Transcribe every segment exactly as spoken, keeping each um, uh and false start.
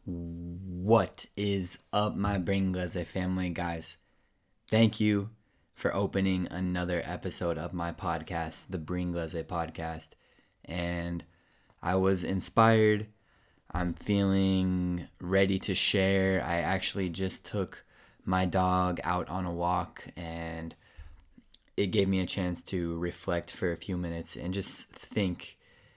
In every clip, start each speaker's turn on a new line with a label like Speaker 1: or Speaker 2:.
Speaker 1: What is up, my Brain Glaze family, guys? Thank you for opening another episode of my podcast, the Brain Glaze Podcast. And I was inspired. I'm feeling ready to share. I actually just took my dog out on a walk, and it gave me a chance to reflect for a few minutes and just think.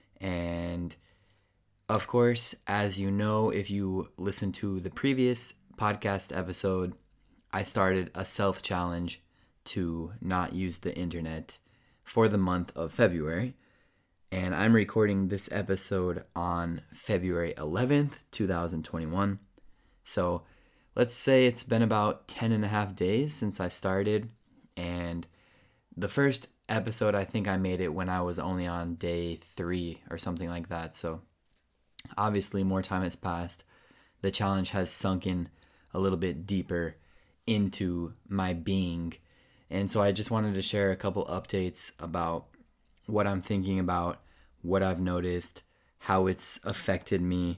Speaker 1: And of course, as you know, if you listen to the previous podcast episode, I started a self-challenge to not use the internet for the month of February. And I'm recording this episode on February eleventh, twenty twenty-one. So let's say it's been about ten and a half days since I started. And the first episode, I think I made it when I was only on day three or something like that. So obviously, more time has passed. The challenge has sunk in a little bit deeper into my being. And so I just wanted to share a couple updates about what I'm thinking about, what I've noticed, how it's affected me.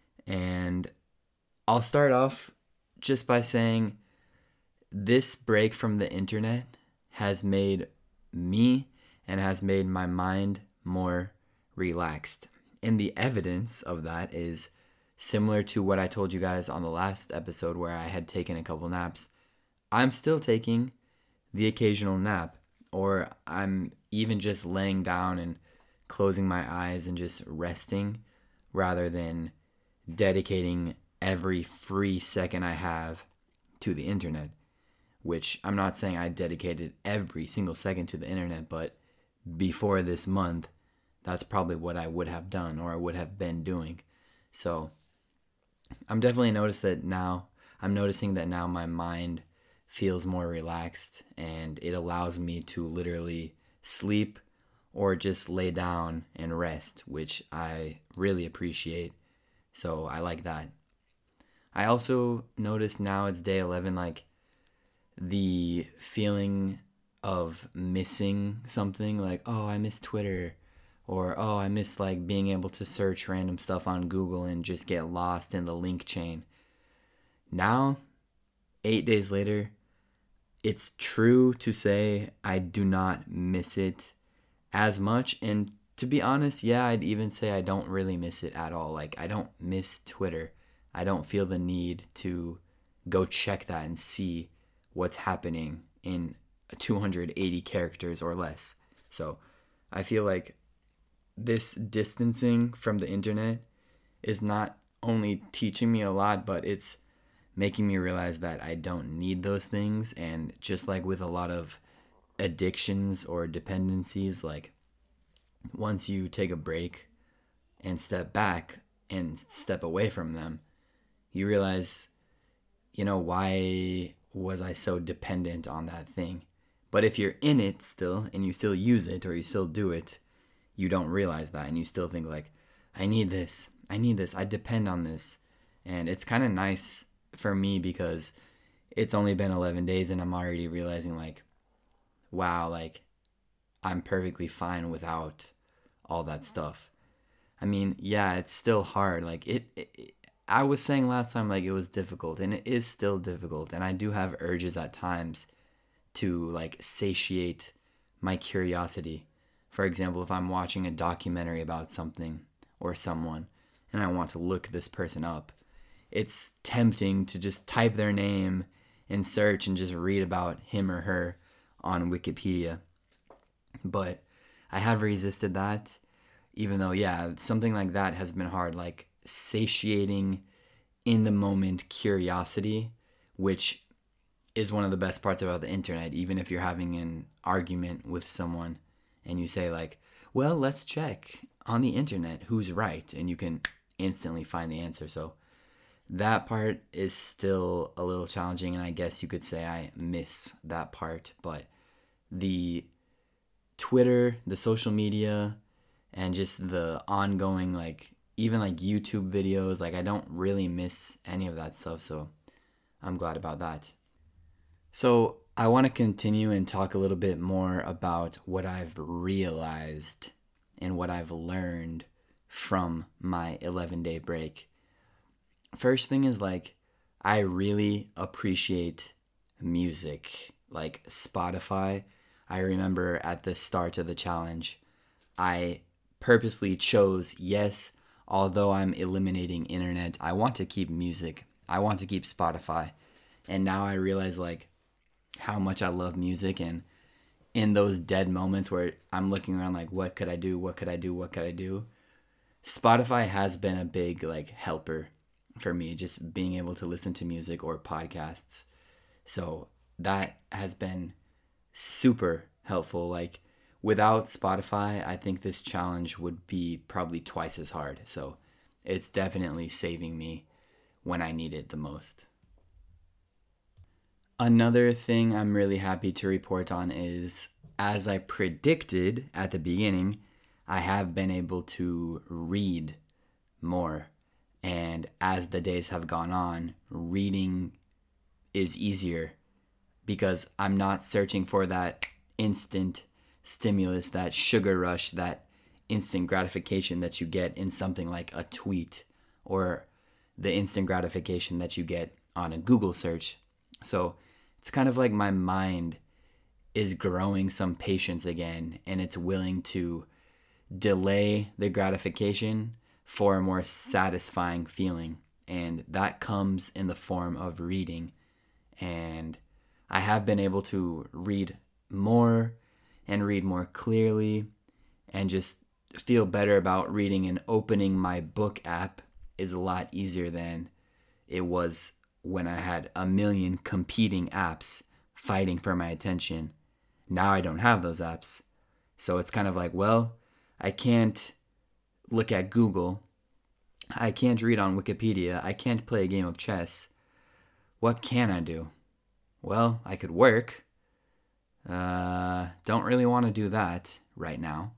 Speaker 1: And I'll start off just by saying this break from the internet has made me and has made my mind more relaxed. And the evidence of that is similar to what I told you guys on the last episode where I had taken a couple naps. I'm still taking the occasional nap, or I'm even just laying down and closing my eyes and just resting rather than dedicating every free second I have to the internet, which I'm not saying I dedicated every single second to the internet, but before this month, that's probably what I would have done or I would have been doing. So I'm definitely noticed that now, I'm noticing that now my mind feels more relaxed and it allows me to literally sleep or just lay down and rest, which I really appreciate. So I like that. I also noticed now it's day eleven, like the feeling of missing something, like, oh, I miss Twitter. Or, oh, I miss like being able to search random stuff on Google and just get lost in the link chain. Now, eight days later, it's true to say I do not miss it as much. And to be honest, yeah, I'd even say I don't really miss it at all. Like, I don't miss Twitter. I don't feel the need to go check that and see what's happening in two hundred eighty characters or less. So I feel like this distancing from the internet is not only teaching me a lot, but it's making me realize that I don't need those things. And just like with a lot of addictions or dependencies, like once you take a break and step back and step away from them, you realize, you know, why was I so dependent on that thing? But if you're in it still and you still use it or you still do it, you don't realize that, and you still think like, I need this, I need this, I depend on this. And it's kind of nice for me because it's only been eleven days and I'm already realizing like, wow, like I'm perfectly fine without all that stuff. I mean, yeah, it's still hard. Like it, it I was saying last time, like it was difficult, and it is still difficult. And I do have urges at times to like satiate my curiosity. For example, if I'm watching a documentary about something or someone and I want to look this person up, it's tempting to just type their name and search and just read about him or her on Wikipedia. But I have resisted that, even though, yeah, something like that has been hard, like satiating in the moment curiosity, which is one of the best parts about the internet. Even if you're having an argument with someone and you say like, well, let's check on the internet who's right, and you can instantly find the answer. So that part is still a little challenging, and I guess you could say I miss that part. But the Twitter, the social media, and just the ongoing, like, even like YouTube videos, like I don't really miss any of that stuff. So I'm glad about that. So I want to continue and talk a little bit more about what I've realized and what I've learned from my eleven-day break. first thing is like, I really appreciate music, like Spotify. I remember at the start of the challenge, I purposely chose, yes, although I'm eliminating internet, I want to keep music. I want to keep Spotify. And now I realize like how much I love music, and in those dead moments where I'm looking around like, what could I do? What could I do? What could I do? Spotify has been a big like helper for me, just being able to listen to music or podcasts. So that has been super helpful. Like without Spotify, I think this challenge would be probably twice as hard. So it's definitely saving me when I need it the most. Another thing I'm really happy to report on is, as I predicted at the beginning, I have been able to read more. And as the days have gone on, reading is easier because I'm not searching for that instant stimulus, that sugar rush, that instant gratification that you get in something like a tweet, or the instant gratification that you get on a Google search. So it's kind of like my mind is growing some patience again, and it's willing to delay the gratification for a more satisfying feeling. And that comes in the form of reading. And I have been able to read more and read more clearly, and just feel better about reading. And opening my book app is a lot easier than it was when I had a million competing apps fighting for my attention. Now I don't have those apps. So it's kind of like, well, I can't look at Google. I can't read on Wikipedia. I can't play a game of chess. What can I do? Well, I could work. Uh, don't really want to do that right now.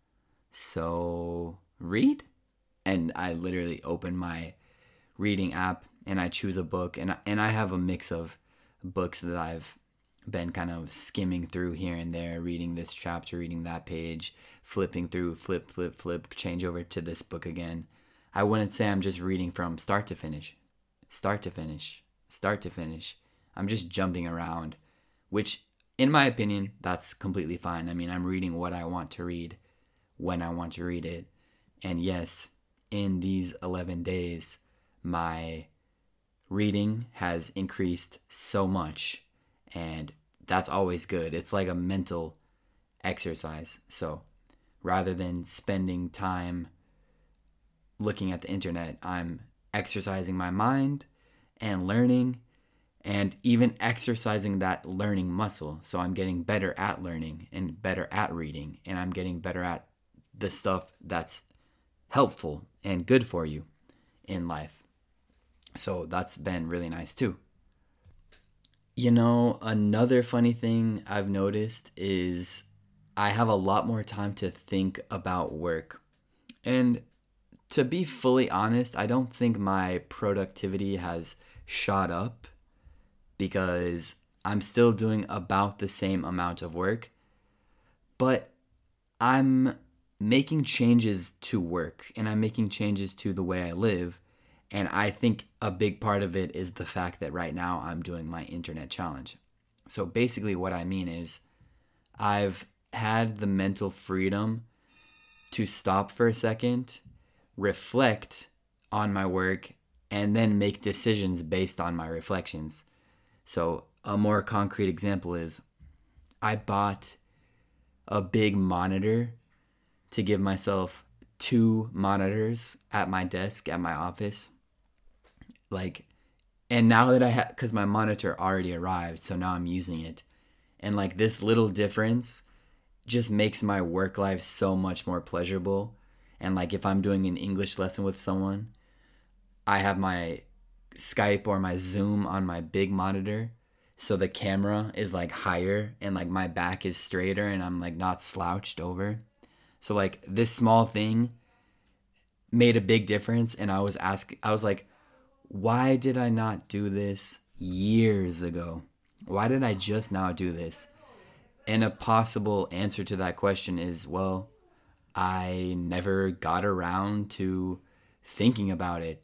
Speaker 1: So, read? And I literally open my reading app and I choose a book. And, and I have a mix of books that I've been kind of skimming through here and there, reading this chapter, reading that page, flipping through, flip, flip, flip, change over to this book again. I wouldn't say I'm just reading from start to finish, start to finish, start to finish. I'm just jumping around, which in my opinion, that's completely fine. I mean, I'm reading what I want to read when I want to read it. And yes, in these eleven days, my reading has increased so much. And that's always good. It's like a mental exercise. So rather than spending time looking at the internet, I'm exercising my mind and learning, and even exercising that learning muscle. So I'm getting better at learning and better at reading, and I'm getting better at the stuff that's helpful and good for you in life. So that's been really nice too. You know, another funny thing I've noticed is I have a lot more time to think about work. And to be fully honest, I don't think my productivity has shot up, because I'm still doing about the same amount of work, but I'm making changes to work, and I'm making changes to the way I live. And I think a big part of it is the fact that right now I'm doing my internet challenge. So basically what I mean is I've had the mental freedom to stop for a second, reflect on my work, and then make decisions based on my reflections. So a more concrete example is I bought a big monitor to give myself two monitors at my desk at my office. Like, and now that I have, because my monitor already arrived, so now I'm using it. And like this little difference just makes my work life so much more pleasurable. And like if I'm doing an English lesson with someone, I have my Skype or my Zoom on my big monitor, so the camera is like higher and like my back is straighter and I'm like not slouched over. So like this small thing made a big difference, and I was asking, I was like, why did I not do this years ago? Why did I just now do this? And a possible answer to that question is, well, I never got around to thinking about it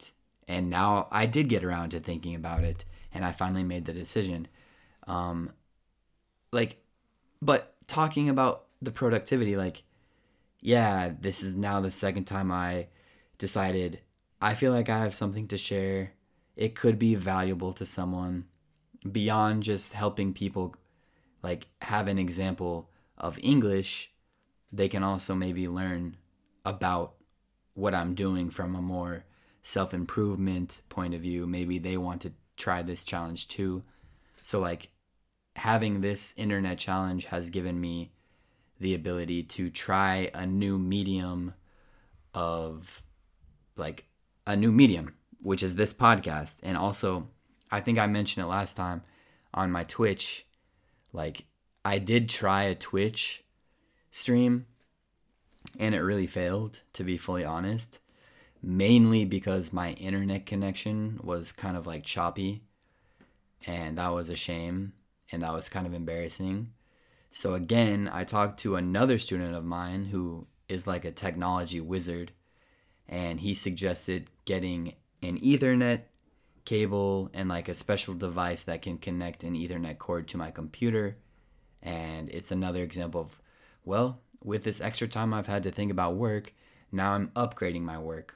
Speaker 1: And now I did get around to thinking about it, and I finally made the decision. Um, like, but talking about the productivity, like, yeah, this is now the second time I decided I feel like I have something to share. It could be valuable to someone beyond just helping people, like, have an example of English. They can also maybe learn about what I'm doing from a more self-improvement point of view. Maybe they want to try this challenge too. So, like, having this internet challenge has given me the ability to try a new medium of, like, a new medium, which is this podcast. And also, I think I mentioned it last time on my Twitch, like, I did try a Twitch stream and it really failed, to be fully honest, mainly because my internet connection was kind of like choppy, and that was a shame, and that was kind of embarrassing. So again, I talked to another student of mine who is like a technology wizard, and he suggested getting an Ethernet cable and like a special device that can connect an Ethernet cord to my computer. And it's another example of, well, with this extra time I've had to think about work, now I'm upgrading my work.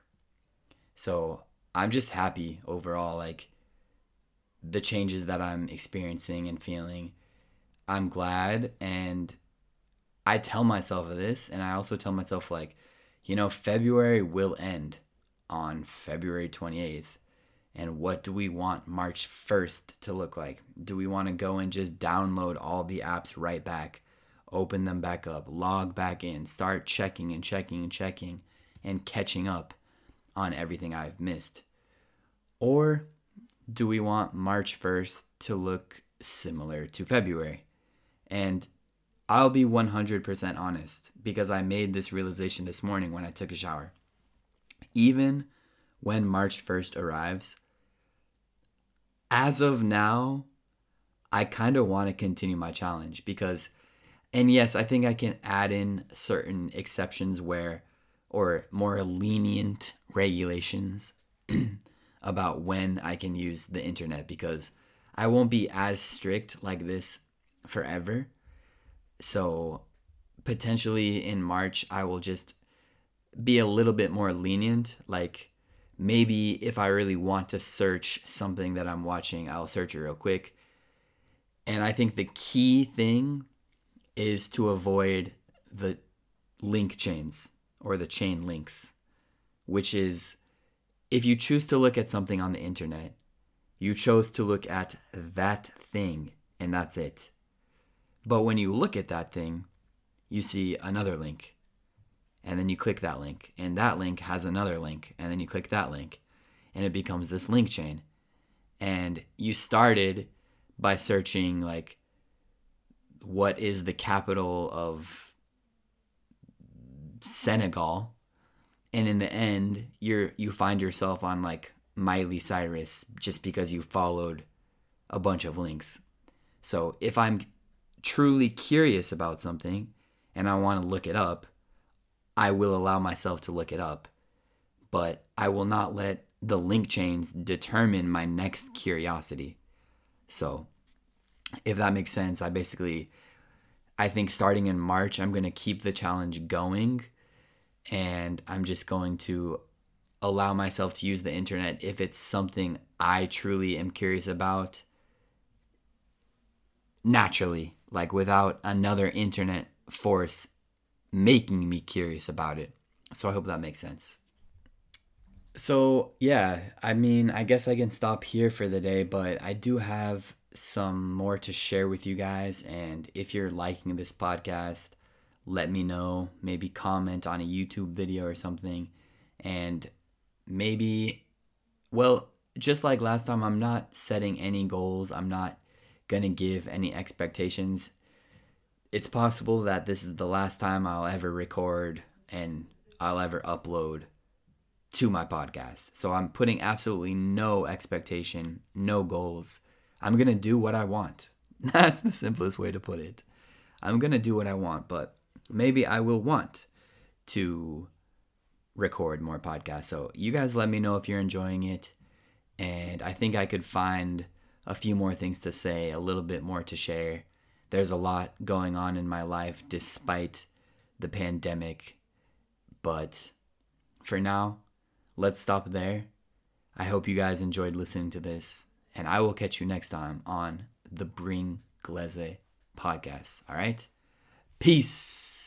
Speaker 1: So I'm just happy overall, like, the changes that I'm experiencing and feeling. I'm glad, and I tell myself this, and I also tell myself, like, you know, February will end on February twenty-eighth. And what do we want March first to look like? Do we want to go and just download all the apps right back, open them back up, log back in, start checking and checking and checking and catching up on everything I've missed? Or do we want March first to look similar to February? And I'll be one hundred percent honest, because I made this realization this morning when I took a shower. Even when March first arrives, as of now, I kind of want to continue my challenge because, and yes, I think I can add in certain exceptions where, or more lenient regulations about when I can use the internet, because I won't be as strict like this forever. So potentially in March, I will just be a little bit more lenient. Like, maybe if I really want to search something that I'm watching, I'll search it real quick. And I think the key thing is to avoid the link chains or the chain links, which is, if you choose to look at something on the internet, you chose to look at that thing and that's it. But when you look at that thing, you see another link. And then you click that link, and that link has another link, and then you click that link, and it becomes this link chain. And you started by searching, like, what is the capital of Senegal, and in the end, you're you find yourself on, like, Miley Cyrus just because you followed a bunch of links. So if I'm truly curious about something and I want to look it up, I will allow myself to look it up, but I will not let the link chains determine my next curiosity. So if that makes sense, I basically, I think starting in March, I'm going to keep the challenge going, and I'm just going to allow myself to use the internet if it's something I truly am curious about, naturally, like without another internet force making me curious about it. So I hope that makes sense. So yeah, I mean, I guess I can stop here for the day, but I do have some more to share with you guys. And if you're liking this podcast, let me know. Maybe comment on a YouTube video or something. And maybe, well, just like last time, I'm not setting any goals. I'm not going to give any expectations. It's possible that this is the last time I'll ever record and I'll ever upload to my podcast. So I'm putting absolutely no expectation, no goals. I'm going to do what I want. That's the simplest way to put it. I'm going to do what I want, but maybe I will want to record more podcasts. So you guys let me know if you're enjoying it. And I think I could find a few more things to say, a little bit more to share. There's a lot going on in my life despite the pandemic. But for now, let's stop there. I hope you guys enjoyed listening to this. And I will catch you next time on the Bring Glaze podcast. All right? Peace.